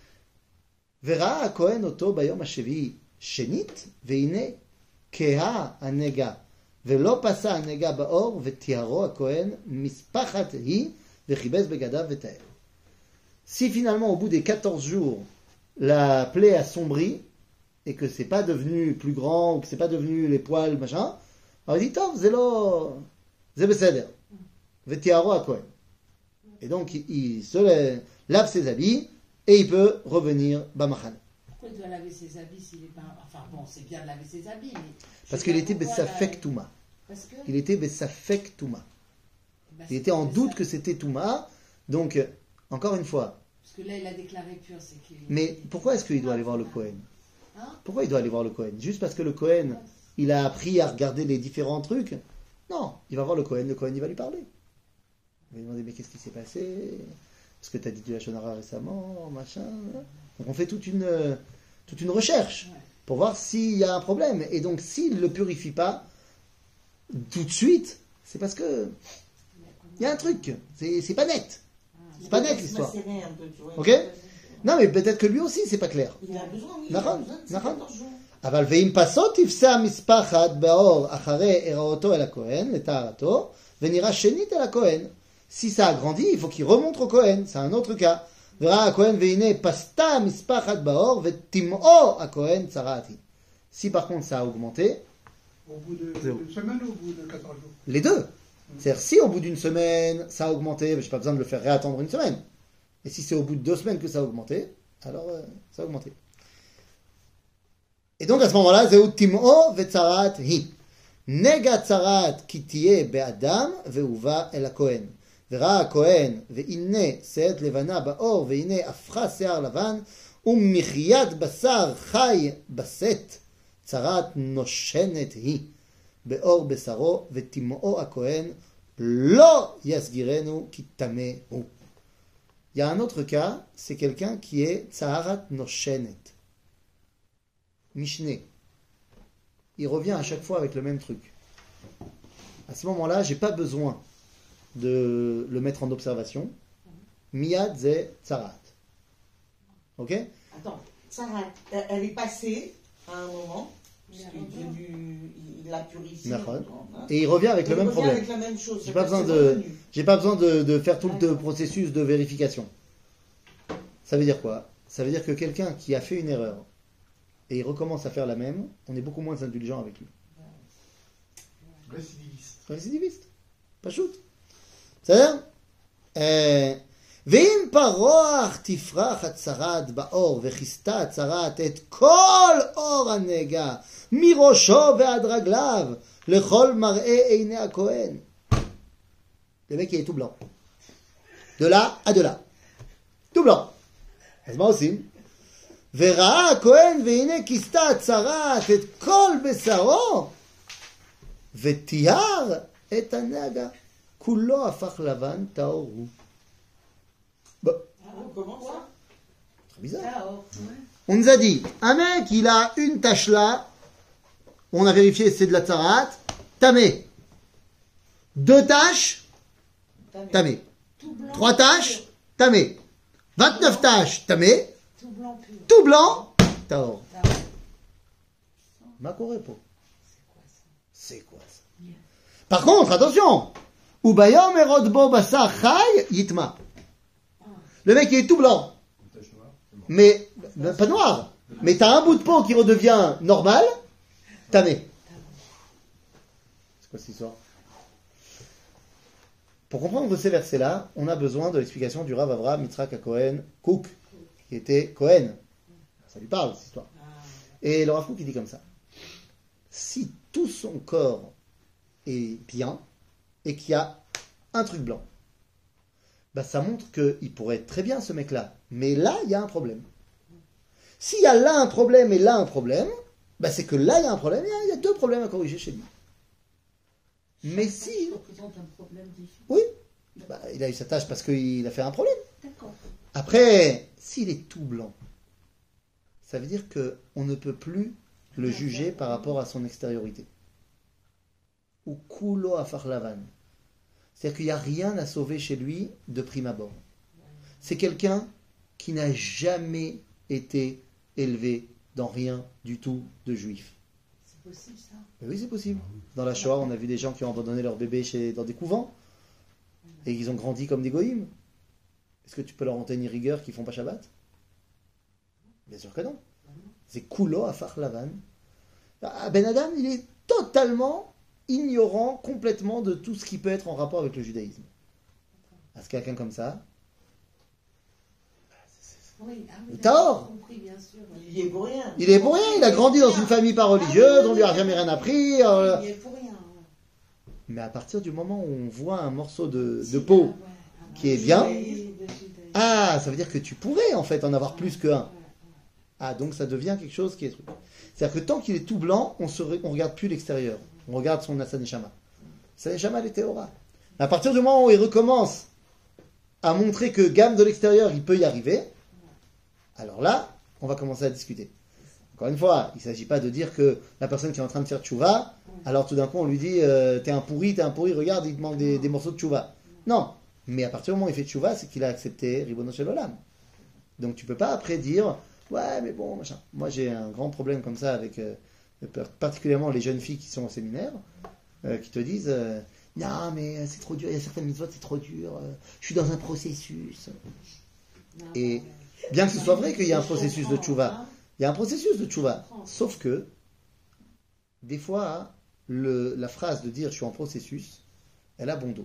Verra Kohen oto bayom hashevi shenit, veine keha anega. ולא פסע הנגע באור, ותיארו הכהן, מספחת היא, וחיבס בגדיו ותאר. Si finalement, au bout des quatorze jours, la plaie a sombri, et que c'est pas devenu plus grand, ou que c'est pas devenu les poils, machin, alors il dit, Tov, c'est lo, c'est beseder. Vetiaro הכהן. Et donc, il, il se lave ses habits, et il peut revenir b'machane. Pourquoi il doit laver ses habits s'il n'est pas... Enfin bon, c'est bien de laver ses habits, mais... Parce qu'il était Bessafek Touma. Parce que... Il était Bessafek Touma. Ben, il était en doute que c'était Touma. Donc, encore une fois... Parce que là, il a déclaré pur, c'est qu'il... Mais pourquoi est-ce qu'il doit aller voir le Kohen? Hein? Pourquoi il doit aller voir le Kohen? Juste parce que le Kohen, il a appris à regarder les différents trucs? Non, il va voir le Kohen, le Kohen, il va lui parler. Il va lui demander, mais qu'est-ce qui s'est passé? Est-ce que tu as dit du Lachon Hara récemment? Machin. Donc on fait toute une, toute une recherche. pour voir s'il y a un problème. Et donc, s'il ne le purifie pas tout de suite, c'est parce que il y a un truc. C'est, c'est pas net. C'est pas net l'histoire. Ok? Non, mais peut-être que lui aussi, c'est pas clair. Il a besoin, oui, il a Nachon, besoin de nachon. quatorze jours. אבל ואם פסות תפסה המספחת באור אחרי הראותו אל הכהן, לטהרתו, ונראה שנית אל הכהן. Si ça a grandi, il faut qu'il remonte au Kohen. C'est un autre cas. וראה הכהן והנה פסתה המספחת באור, וטימאו הכהן צרעתי. Si par contre ça a augmenté, Au bout de- Zéro. d'une semaine ou au bout de quatorze jours? les deux. C'est-à-dire si au bout d'une semaine ça a augmenté, je n'ai pas besoin de le faire réattendre une semaine. Et si c'est au bout de deux semaines que ça a augmenté, alors euh, ça a augmenté. Et donc à ce moment-là, Zéou Tim'o ve'tzarat hi. Nega tzarat ki tiye be'adam ve'uva el ha-kohen. Ve'ra ha-kohen ve'inne se'et levana ba'or ve'inne afra se'ar lavan u'michiyat basar chay baset tzarat noshenet hi. Be'or besaro ve'tim'o ha-kohen lo yasgirenu ki tameh hu. Il y a un autre cas, c'est quelqu'un qui est tzarat noshenet. Mishneh. Il revient à chaque fois avec le même truc. À ce moment-là, j'ai pas besoin de le mettre en observation. Miyad ze tzarat. Ok? Attends, Sarah, elle elle est passée à un moment, puisqu'il est devenu, il l'a purifié. Nachon. hein. Et il revient avec Et le il même revient problème. avec la même chose. J'ai pas c'est-à-dire besoin c'est de- revenu. J'ai pas besoin de, de faire tout le processus de vérification. Ça veut dire quoi? Ça veut dire que quelqu'un qui a fait une erreur et il recommence à faire la même, on est beaucoup moins indulgent avec lui. Récidiviste. récidiviste. פשוט. בסדר? ואם פרוח תפרח הצרת באור וכיסתה הצרת את כל אור הנגע מראשו ועד רגליו לכל מראה עיני הכהן. Le mec il est tout blanc. De là à de là. tout blanc. אז מה עושים? וראה הכהן והנה כיסתה הצרת את כל בשרו ותיאר את הנגע. כולו הפך לבן טהור הוא. Bon, Comment ça? très bizarre. Dehors. On nous a dit, un mec, il a une tache là, on a vérifié c'est de la tzarat, tamé. Deux taches, tamé. Tout blanc. Trois taches, tamé. vingt-neuf taches, tamé. Tout blanc pur. Tout blanc, taor. Dehors. Ma correpo. C'est quoi ça? C'est quoi ça? Par contre, attention, Ubayom erodbo basar chay yitma. Le mec il est tout blanc, Une tache noire, c'est bon. mais ben, pas noir. Mais t'as un bout de peau qui redevient normal, tamé. C'est quoi cette histoire? Pour comprendre ces versets-là, on a besoin de l'explication du Rav Avraham Yitzhak HaKohen Kouk, qui était Cohen. Ça lui parle, cette histoire. Et le Rav Kouk, il dit comme ça. Si tout son corps est bien, et qu'il y a un truc blanc, bah ça montre qu'il pourrait être très bien, ce mec-là. Mais là, il y a un problème. S'il y a là un problème et là un problème, bah c'est que là, il y a un problème, il y a- il y a deux problèmes à corriger chez lui. Mais si... Ça représente un problème différent. Oui, bah, il a eu sa tâche parce qu'il a fait un problème. D'accord. Après, s'il est tout blanc, ça veut dire qu'on ne peut plus le juger par rapport à son extériorité. Ou kulo afar lavan. C'est-à-dire qu'il n'y a rien à sauver chez lui de prime abord. C'est quelqu'un qui n'a jamais été élevé dans rien du tout de juif. C'est possible ça? Mais oui, c'est possible. Dans la Shoah, on a vu des gens qui ont abandonné leur bébé chez, dans des couvents et qu'ils ont grandi comme des goïms. Est-ce que tu peux leur en tenir rigueur qu'ils font pas Shabbat? Bien sûr que non. C'est kulo afar lavan. Ah, Ben Adam, il est totalement ignorant complètement de tout ce qui peut être en rapport avec le judaïsme. Est-ce que quelqu'un comme ça? Oui, ah oui. T'as d'accord, or. compris, bien sûr. Il y est pour rien. Il est pour rien, il a grandi dans une famille pas religieuse, on lui a jamais rien appris. euh, Il y est pour rien. ouais. Mais à partir du moment où on voit un morceau de, Si, de peau, ouais, un qui est bon bien. judaïsme, de judaïsme. ah, ça veut dire que tu pourrais en fait en avoir plus qu'un. Ouais, ouais. Ah, donc ça devient quelque chose qui est truc. C'est-à-dire que tant qu'il est tout blanc, on ne on regarde plus l'extérieur. On regarde son Asa Neshama. Asa Neshama, elle est Théora. À partir du moment où il recommence à montrer que gamme de l'extérieur, il peut y arriver, alors là, on va commencer à discuter. Encore une fois, il ne s'agit pas de dire que la personne qui est en train de faire tchouva, alors tout d'un coup on lui dit euh, t'es un pourri, t'es un pourri, regarde, il te manque des, des morceaux de tchouva. Non, mais à partir du moment où il fait tchouva, c'est qu'il a accepté Ribono Shel Olam. Donc tu peux pas après dire ouais mais bon machin. Moi j'ai un grand problème comme ça avec euh, particulièrement les jeunes filles qui sont au séminaire, euh, qui te disent euh, non mais c'est trop dur, il y a certaines mitzvot c'est trop dur, euh, je suis dans un processus. Et bien que ce soit vrai qu'il y a un processus de tchouva, il y a un processus de tchouva, sauf que des fois le, la phrase de dire je suis en processus, elle a bon dos.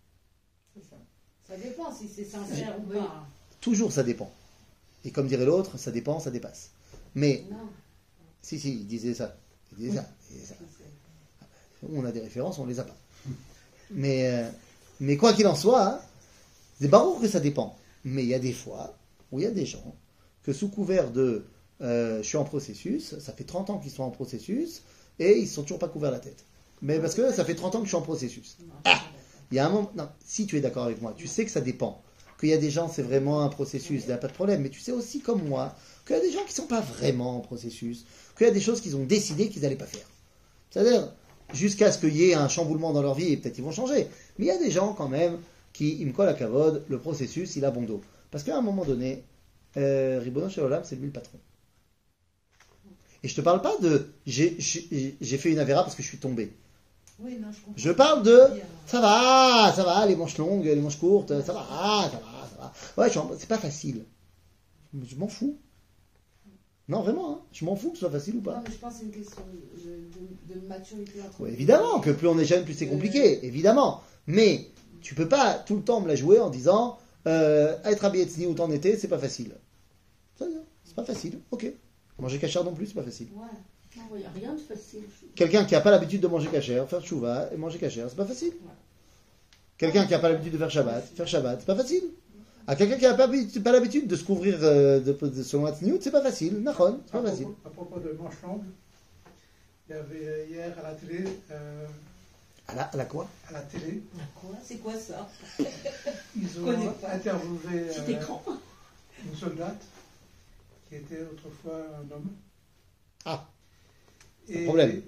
Ça dépend si c'est sincère ou pas. Toujours ça dépend. Et comme dirait l'autre, ça dépend, ça dépasse. Mais, Non. si, si, il disait ça. Il disait ça. Il disait ça. On a des références, on les a pas. Mais, euh, mais quoi qu'il en soit, hein, c'est baroque que ça dépend. Mais il y a des fois où il y a des gens que sous couvert de euh, je suis en processus, ça fait trente ans qu'ils sont en processus, et ils ne sont toujours pas couverts la tête. Mais parce que ça fait trente ans que je suis en processus. Ah, il y a un moment, non, si tu es d'accord avec moi, tu sais que ça dépend. Qu'il y a des gens, c'est vraiment un processus, il n'y a pas de problème. Mais tu sais aussi, comme moi, qu'il y a des gens qui ne sont pas vraiment en processus, qu'il y a des choses qu'ils ont décidé qu'ils n'allaient pas faire. C'est-à-dire, jusqu'à ce qu'il y ait un chamboulement dans leur vie, et peut-être ils vont changer. Mais il y a des gens, quand même, qui, ils me collent à cavode, le processus, il a bon dos. Parce qu'à un moment donné, euh, Ribono Shel Olam, c'est lui le patron. Et je ne te parle pas de j'ai, j'ai, j'ai fait une avéra parce que je suis tombé. Oui, non, je comprends. Je parle de ça va, ça va, les manches longues, les manches courtes, ça va, ça va, ça va. Ouais, je, c'est pas facile. Je m'en fous. Non, vraiment, hein, je m'en fous que ce soit facile ou Non, pas. mais je pense que c'est une question de, de, de maturité. Entre Ouais, évidemment, que plus on est jeune, plus c'est compliqué, évidemment. Mais tu peux pas tout le temps me la jouer en disant euh, être habillé de tsniout en été, c'est pas facile. C'est pas facile, ok. Manger cachère non plus, c'est pas facile. Ouais. Non, il n'y a rien de facile. Quelqu'un qui n'a pas l'habitude de manger cachère, faire tchouva et manger cachère, c'est pas facile. Quelqu'un qui n'a pas l'habitude de faire Shabbat, faire Shabbat, c'est pas facile. À quelqu'un qui n'a pas, pas l'habitude de se couvrir euh, de, de son Hatzniut, c'est pas facile. Nachon, c'est pas à facile. Propos, à propos de manches longues, il y avait hier à la télé, euh, À la, à la quoi? à la télé, Quoi? C'est quoi ça? ils connais ont pas. interviewé Petit euh, écran. une soldate qui était autrefois un homme. Ah, Et, problème.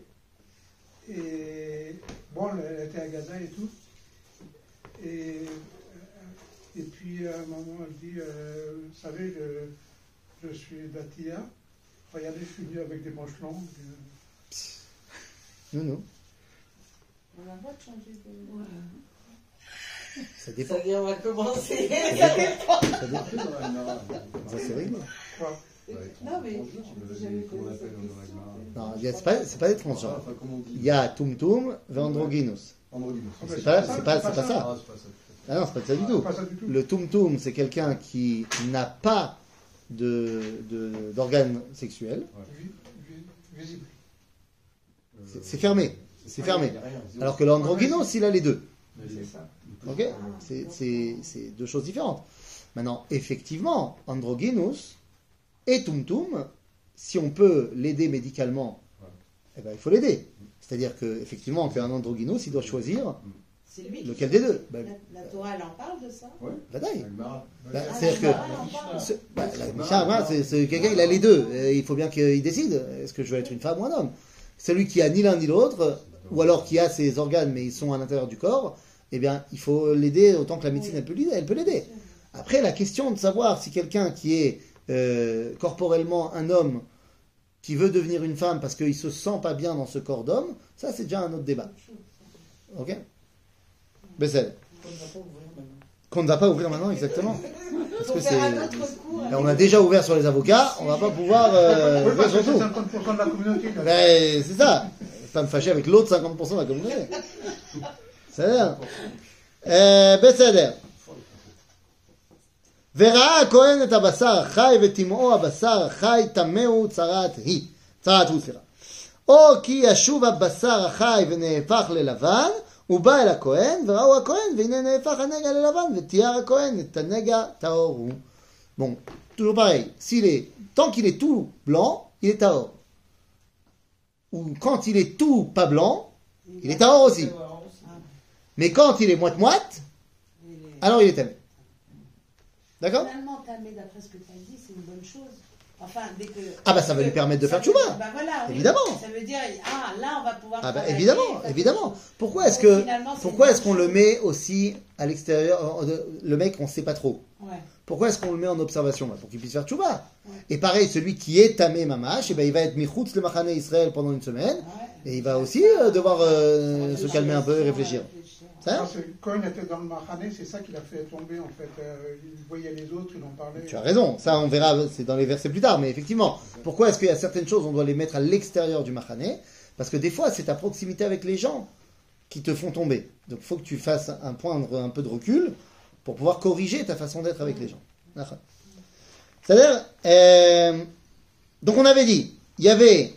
Et bon, elle était à Gaza et tout. Et, et puis à un moment, elle dit euh, vous savez, je, je suis d'Atia. Regardez, je suis venu avec des manches longues. non, non. On a le droit de changer de. Ouais. Ça dépend. Ça y est, on va commencer. Ça dépend. Ça, c'est réglé. Quoi. Non, mais j'avais Comment on posé appelle cette en question, règle mais- Non, il y a- c'est pas, c'est pas des transgenres. Enfin, comment on dit Il y a Tum Tum et Androgynous. Androgynous. Ah, mais C'est pas, c'est pas, c'est pas ça. Ah, c'est pas ça. Ah non, c'est pas ça du C'est tout. pas ça du tout. Le Tum Tum, c'est quelqu'un qui n'a pas de, de, d'organes sexuels. Vi- vi- Visible. C'est, c'est fermé. C'est fermé. Il y a rien, zéro. Alors que l'androgynous, il a les deux. C'est ça. Ok, c'est, c'est, c'est deux choses différentes. Maintenant, effectivement, androgynous et Tum Tum, si on peut l'aider médicalement, Ouais. eh ben, il faut l'aider. C'est-à-dire qu'effectivement, qu'un androgynous, il doit choisir C'est lui. lequel des deux. Ben, La, la Torah, elle en parle de ça? Ouais. Vadaï. Agmara. Ben, Ah, c'est-à-dire que la Torah, elle en parle. ce- bah, la Mishnah, voilà, c'est, c'est quelqu'un, il a les deux. Et il faut bien qu'il décide. Est-ce que je veux être une femme ou un homme? Celui qui a ni l'un ni l'autre, ou alors qui a ses organes mais ils sont à l'intérieur du corps, eh bien, il faut l'aider autant que la médecine elle peut l'aider. Elle peut l'aider. Après, la question de savoir si quelqu'un qui est euh, corporellement un homme qui veut devenir une femme parce qu'il se sent pas bien dans ce corps d'homme, ça c'est déjà un autre débat. Ok? Bessel. Qu'on ne va pas ouvrir maintenant, exactement. Parce Faut que faire c'est. un autre cours. Là, on a déjà ouvert sur les avocats, on va pas pouvoir euh, Oui, ouvrir parce que sur c'est tout. cinquante pour cent de la communauté. là. Ben, c'est ça. Pas me fâcher avec l'autre cinquante pour cent de la communauté. C'est-à-dire. Euh, בסדר. וראה הכהן את הבשר החי וטמאו הבשר החי טמאו צרת היא. צרת הוא, סליחה. או כי ישוב הבשר החי ונהפך ללבן, הוא בא אל הכהן, וראו הכהן, והנה נהפך הנגע ללבן, ותיאר הכהן את הנגע טהור הוא. Bon, toujours pareil. S'il est, tant qu'il est tout blanc, il est tahor. Ou quand il est tout pas blanc, il est tahor aussi. Mais quand il est moite-moite, Il est- alors il est tamé. D'accord? Finalement, Tamé, d'après ce que tu as dit, c'est une bonne chose. Enfin, dès que. Ah bah ça va lui permettre de ça faire veut- tchouva. Bah voilà, oui. Évidemment. Ça veut dire, ah, là, on va pouvoir. Ah bah travailler, évidemment, faire évidemment. quelque chose. Pourquoi est-ce Donc, que finalement, c'est pourquoi une est-ce qu'on bonne le met aussi à l'extérieur, euh, le mec on sait pas trop. chose. Ouais. Pourquoi est-ce qu'on le met en observation? Bah, pour qu'il puisse faire tchouva. Ouais. Et pareil, celui qui est tamé mamash, et ben il va être michoutz le machane Israël pendant une semaine, Ouais. et il va aussi euh, devoir euh, se calmer un peu et réfléchir. Ça Parce que quand il était dans le Mahané, c'est ça qui l'a fait tomber en fait. Euh, il voyait les autres, il en parlait. Tu as raison, ça on verra, c'est dans les versets plus tard, mais effectivement, pourquoi est-ce qu'il y a certaines choses, on doit les mettre à l'extérieur du Mahané? Parce que des fois, c'est ta proximité avec les gens qui te font tomber. Donc il faut que tu fasses un point, de- un peu de recul pour pouvoir corriger ta façon d'être avec les gens. D'accord. C'est-à-dire, euh, donc on avait dit, il y avait,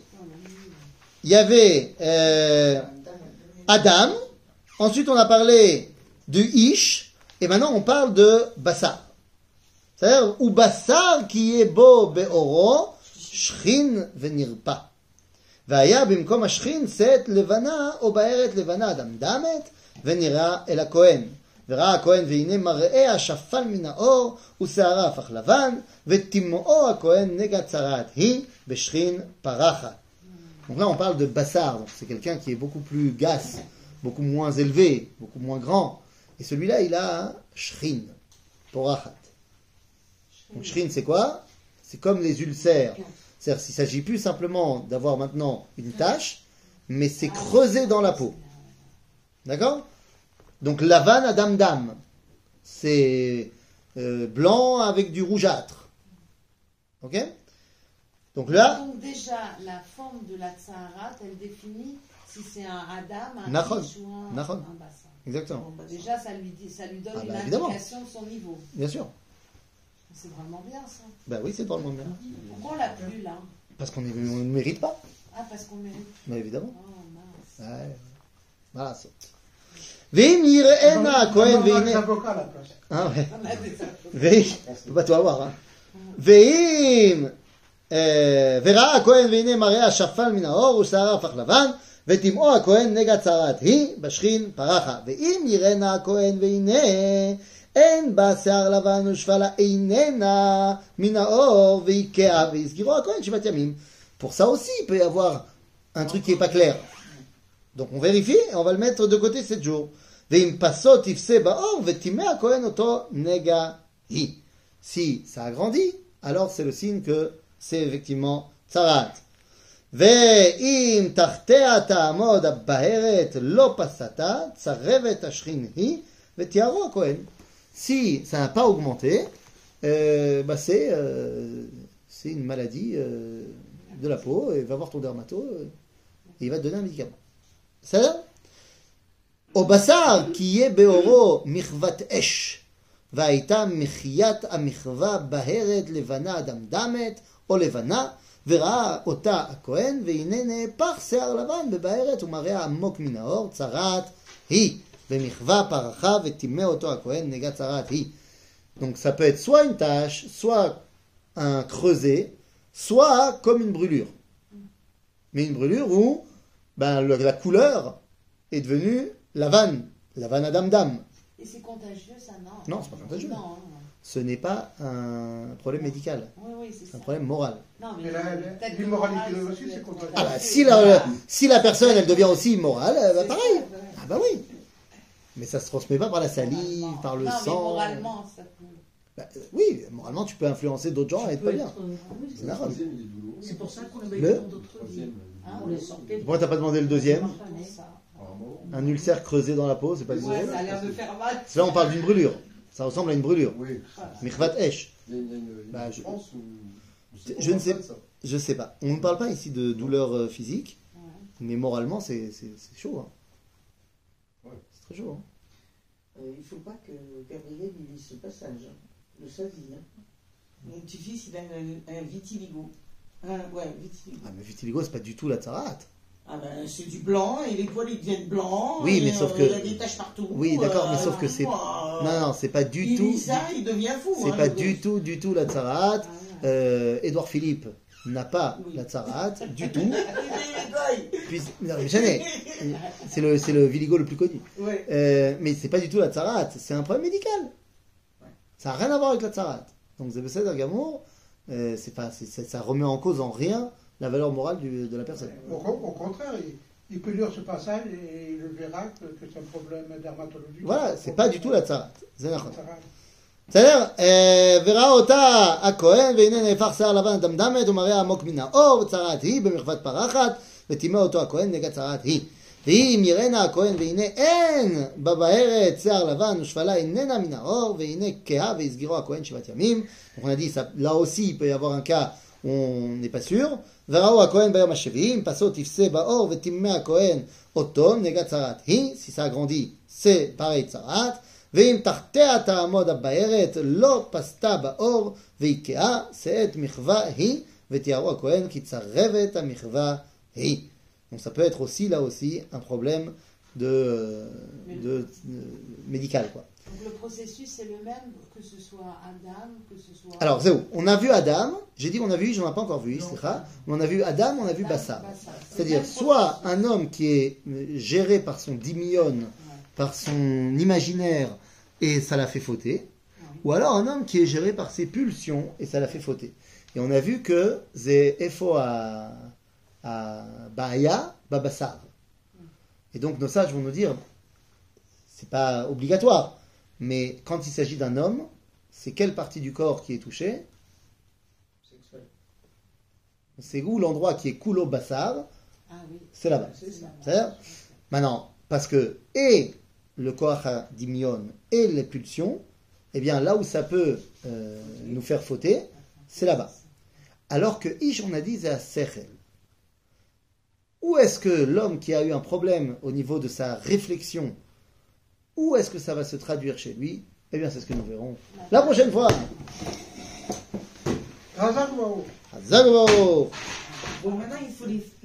il y avait euh, Adam, ensuite on a parlé de Ish, et maintenant on parle de Bassar. C'est-à-dire, ou Bassar qui est beau be'oro, shrin venirpa. והיה במקום השכין שאת לבנה או בארת לבנה דמדמת ונראה אל הכהן. וראה הכהן והנה מראה השפל מן האור ושערה הפך לבן ותימאו הכהן נגע צרעת היא בשכין פרחת. Donc là on parle de Bassar, donc c'est quelqu'un qui est beaucoup plus gasse, beaucoup moins élevé, beaucoup moins grand. Et celui-là il a un shrin, porachat. Donc shrin c'est quoi? C'est comme les ulcères. C'est-à-dire qu'il ne s'agit plus simplement d'avoir maintenant une tache, mais c'est creusé dans la peau. D'accord? Donc lavan adam dam, c'est euh, blanc avec du rougeâtre. Ok? Donc là, Donc déjà, la forme de la tsaharat, elle définit si c'est un Adam, un Nachon. Ish ou un, Nachon. un Bassar. exactement, Déjà, ça lui, dit, ça lui donne Ah une bah, évidemment. indication de son niveau. bien sûr. C'est vraiment bien ça. Ben oui, c'est drôlement bien. Pourquoi on l'a plus là? Parce qu'on est- on ne mérite pas, Ah, parce qu'on mérite. mais évidemment. Oh mince. Ouais. Voilà. c'est- Veim yireena הכהן On a des והנה... avocats à la place. Ah ouais. On a des infos. ואם, on peut pas tout avoir, hein. ואם, אה, וראה הכהן והנה מראה השפל מן האור ושערה הפך לבן, ותמאו הכהן נגע צרת היא בשכין פרחה. ואם יראנה הכהן והנה אין בה שיער לבן ושפלה איננה מן האור ויקעה ויסגירו הכהן שבעת ימים. Pour ça aussi, il peut y avoir un truc qui est pas clair. Donc on vérifie et on va le mettre de côté sept jours. ואם פסו תפסה באור וטימא הכהן אותו נגע היא. Si ça a grandi, alors c'est le signe que c'est effectivement tsarat. ואם תחתיה תעמוד הבהרת לא פסתה, צרבת השכין היא ותיארו הכהן. Si ça n'a pas augmenté, euh, bah c'est, euh, c'est une maladie euh, de la peau, et va voir ton dermato, euh, et il va te donner un médicament. Ça au basar qui est beoro michvat esh. והייתה מחיית המחווה בהרת לבנה דמדמת או לבנה וראה אותה הכהן והנה נהפך שיער לבן בבהרת ומראה עמוק מן האור צרעת היא ומחווה פרחה וטימא אותו הכהן נגע צרעת היא. Donc ça peut être soit une tache, soit un creuset, soit comme une brûlure. Mais une brûlure où ben, le- la couleur est devenue la vanne, la vanne à dam-dam. Et c'est contagieux ça, non? Non, c'est pas contagieux. Non, non. Ce n'est pas un problème médical, Oui, oui, c'est c'est ça. un problème moral. Non, Mais la- la- peut-être l'immoralité que le moral, aussi, ça c'est peut contagieux. être Ah bah, si la, si la personne elle devient aussi immorale, euh, bah C'est pareil. ça, ouais. Ah bah oui. Mais ça se transmet pas par la salive, Moralement. par le non, sang. mais moralement, ça peut. Bah, euh, oui, moralement tu peux influencer d'autres gens et être pas bien. C'est C'est normal. c'est pour ça qu'on a Le- mis dans d'autres vies. Hein, On les sortait. Pourquoi t'as pas demandé le deuxième? pour ça. Un ulcère creusé dans la peau, c'est pas du Ouais, tout. ça a l'air de faire mal. Là on parle d'une brûlure. Ça ressemble à une brûlure. Oui. Michvat esh. Il y a une, il y a une- une Bah, je- différence ou- ou c'est je ne sais- pas ça. Je sais pas. On ne parle pas ici de douleur euh, physique, Ouais. mais moralement c'est, c'est, c'est chaud. Hein. Ouais. C'est très chaud. Hein. Euh, il ne faut pas que Gabriel il lise ce passage hein, de sa vie. Hein. Mon petit-fils, il a un, un vitiligo. Un, ouais, vitiligo. Ah mais vitiligo c'est pas du tout la tsarat. Ah ben, c'est du blanc et les poils ils deviennent blancs. Oui, et, mais sauf euh, que- il y a des taches partout. Oui, d'accord, mais euh, sauf que c'est- moi, Non non c'est pas du il tout. lit ça, il devient fou. C'est hein, pas le du gosse. tout, du tout la tsarat. Ah, ouais. Euh, Édouard Philippe n'a pas Oui. la tsarat du tout. Il Puis, non, mais jamais. C'est le, c'est le viligo le plus connu. rigole. Ouais. Euh, mais c'est pas du tout la tsarat, c'est un problème médical. Ouais. Ça n'a rien à voir avec la tsarat. Donc c'est Besséder Gamour, euh, c'est pas, c'est, c'est- ça remet en cause en rien la valeur morale du- de la personne. Au, con- au contraire, il, il peut lire ce passage et il verra que, que c'est un problème dermatologique. Voilà, c'est pas du tout la tzarat. C'est נכון. Tzarat. בסדר? אה, וראה אותה הכהן, והנה נהפך שיער לבן דמדמת, ומראה עמוק מן האור, וצרעת היא במחוות פרחת, וטימא אותו הכהן נגד צרעת היא. ואם יראנה הכהן, והנה אין בבהרת שיער לבן, ושפלה איננה מן האור, והנה כהה, והסגירו הכהן שבעת ימים. Donc on a dit, ça, là aussi, il peut y avoir un cas où on n'est pas sûr. וראו הכהן ביום השביעי, פסו תפסה באור, וטימא הכהן אותו נגד צרעת היא. Si ça agrandit, c'est pareil צרעת. ואם תחתיה תעמוד הבארת לא פסתה באור ויקאה שאת מחווה היא ותיארו הכהן כי צרבת המחווה היא. Donc ça peut être aussi là aussi un problème de, de, de médical quoi. Donc le processus c'est le même que ce soit Adam, que ce soit. Alors c'est où? On a vu Adam, j'ai dit on a vu, j'en ai pas encore vu, slicha. On a vu Adam, on a vu Bassar. C'est-à-dire soit un homme qui est géré par son dimion, par son imaginaire et ça l'a fait fauter, ou alors un homme qui est géré par ses pulsions et ça l'a fait fauter. Et on a vu que c'est Efo à, à Bahaya, Babassar. Et donc nos sages vont nous dire, c'est pas obligatoire, mais quand il s'agit d'un homme, c'est quelle partie du corps qui est touchée? Sexuel. C'est où l'endroit qui est Kulo Bassar? Ah oui. C'est là-bas. C'est ça. C'est-à-dire, maintenant, parce que et le Koach Dimion et les pulsions, eh bien là où ça peut euh, nous faire fauter, c'est là-bas. Alors que Ish, on a dit, c'est à Sechel. Où est-ce que l'homme qui a eu un problème au niveau de sa réflexion, où est-ce que ça va se traduire chez lui? Eh bien, c'est ce que nous verrons la prochaine fois. Razak Wao. Hazak Vao. Bon, maintenant, il faut les,